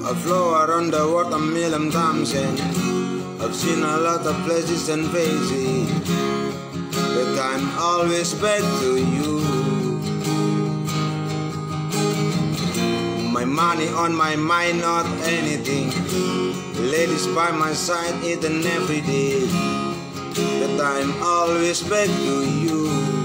I flow around the world a million times and I've seen a lot of places and faces, but I'm always back to you. My money on my mind, not anything. Ladies by my side, each and every day, but I'm always back to you.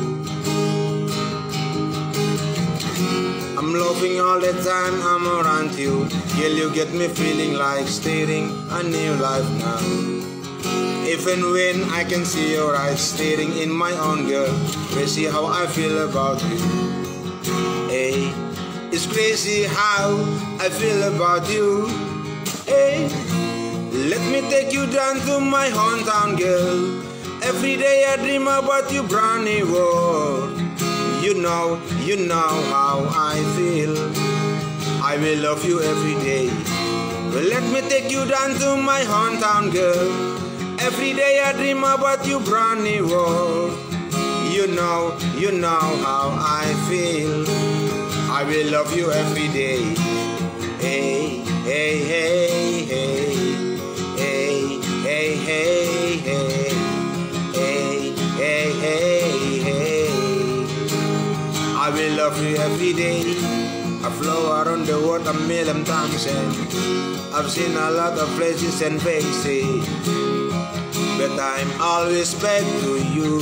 I'm loving all the time I'm around you. Girl, you get me feeling like starting a new life now. Even when I can see your eyes staring in my own, girl, crazy how I feel about you. Hey, it's crazy how I feel about you. Hey, let me take you down to my hometown, girl. Every day I dream about you, brand new world. You know how I feel. I will love you every day. Well, let me take you down to my hometown, girl. Every day I dream about you, brand new world. You know how I feel. I will love you every day. Hey, hey, hey, hey, hey, hey, hey, hey, hey, hey, hey, hey. I will love you every day. I flow around the world a million times and I've seen a lot of places and faces, but I'm always back to you.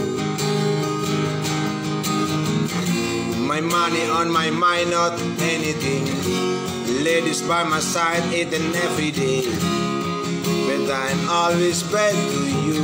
My money on my mind, not anything. Ladies by my side, each and every day, but I'm always back to you.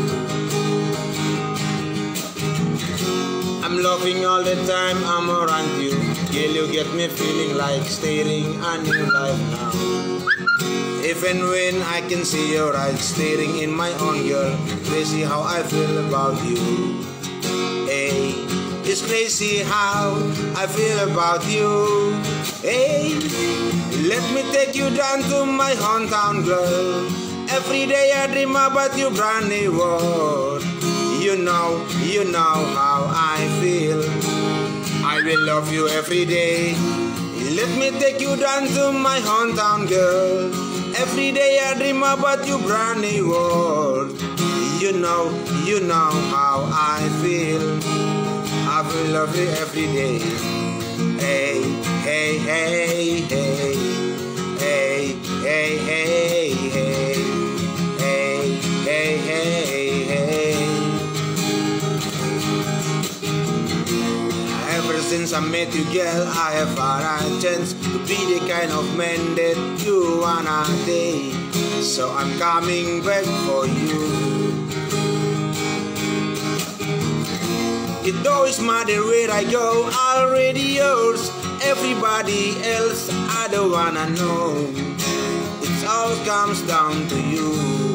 I'm loving all the time I'm around you. Girl, you get me feeling like starting a new life now. Even when I can see your eyes staring in my own, girl, crazy how I feel about you. Hey, it's crazy how I feel about you. Hey, let me take you down to my hometown, girl. Every day I dream about you, brand new world. You know how I feel. I will love you every day. Let me take you down to my hometown, girl. Every day I dream about you, brand new world. You know how I feel. I will love you every day. Hey, hey, hey, hey, hey, hey, hey, hey, hey, hey, hey, hey. Ever since I met you, girl, I have had a chance to be the kind of man that you wanna date. So I'm coming back for you. It don't matter where I go, already yours. Everybody else, I don't wanna know. It all comes down to you.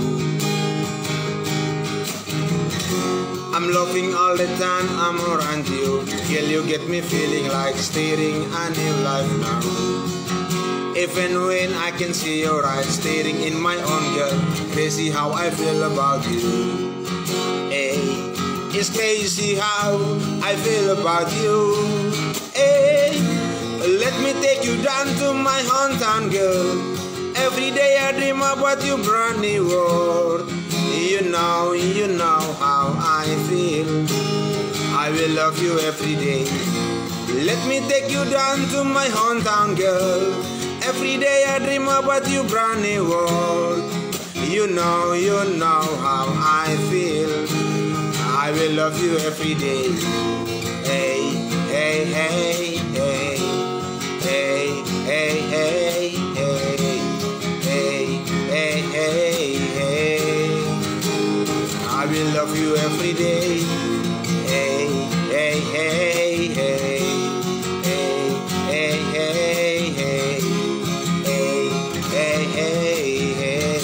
I'm loving all the time I'm around you. Girl, you get me feeling like starting a new life now. Even when I can see your eyes staring in my own, girl, crazy how I feel about you. Hey, it's crazy how I feel about you. Hey, let me take you down to my hometown, girl. Every day I dream about you, brand new world. You know how I feel. I will love you every day. Let me take you down to my hometown, girl. Every day I dream about you, brand new world. You know how I feel. I will love you every day. Hey, hey, hey, hey, hey, hey, hey, hey, hey, hey, hey, hey. I will love you every day. Hey, hey, hey, hey, hey, hey, hey, hey, hey, hey, hey, hey.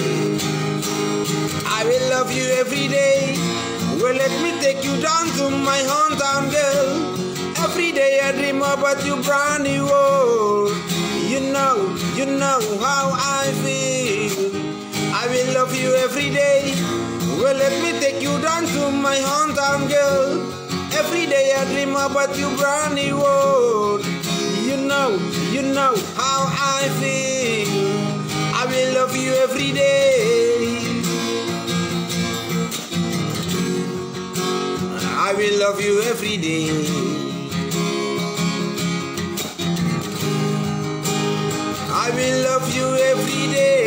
I will love you every day. Well, let me take you down to my hometown, girl. Every day I dream about you, brand new world. You know how I feel. I will love you every day. Well, let me take you down to my hometown, girl. Every day I dream about you, brand new world. You know how I feel. I will love you every day. I will love you every day. I will love you every day.